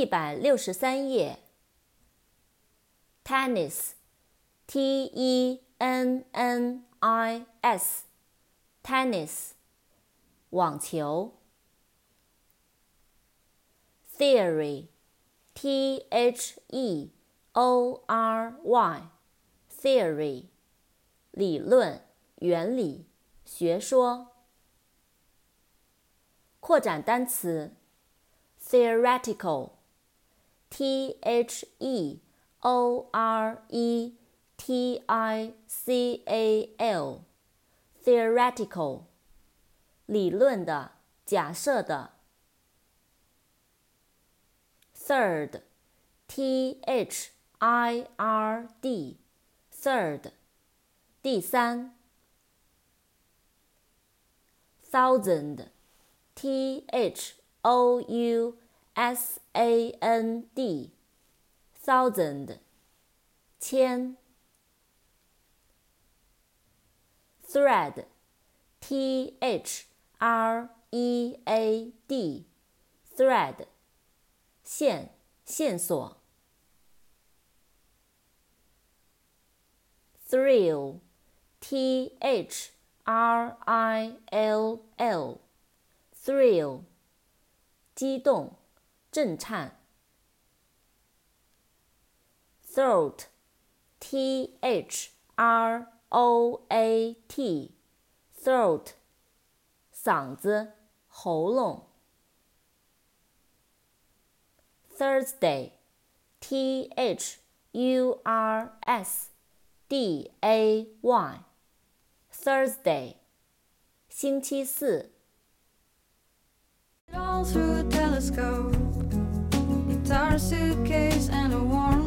163页 Tennis T-E-N-N-I-S Tennis 网球 Theory T-H-E-O-R-Y Theory 理论、原理、学说。扩展单词 Theoretical T-H-E-O-R-E-T-I-C-A-L Theoretical 理论的、假设的。Third T-H-I-R-D Third 第三。Thousand T-H-O-U-S-A-N-D Thousand 千。Thread T-H-R-E-A-D Thread 线、线索。Thrill T-H-R-I-L-L Thrill 激动、震颤。Throat T-H-R-O-A-T Throat 嗓子、喉咙。Thursday T-H-U-R-S-D-A-Y Thursday 星期四。 All through a telescope, guitar, suitcase, and a warm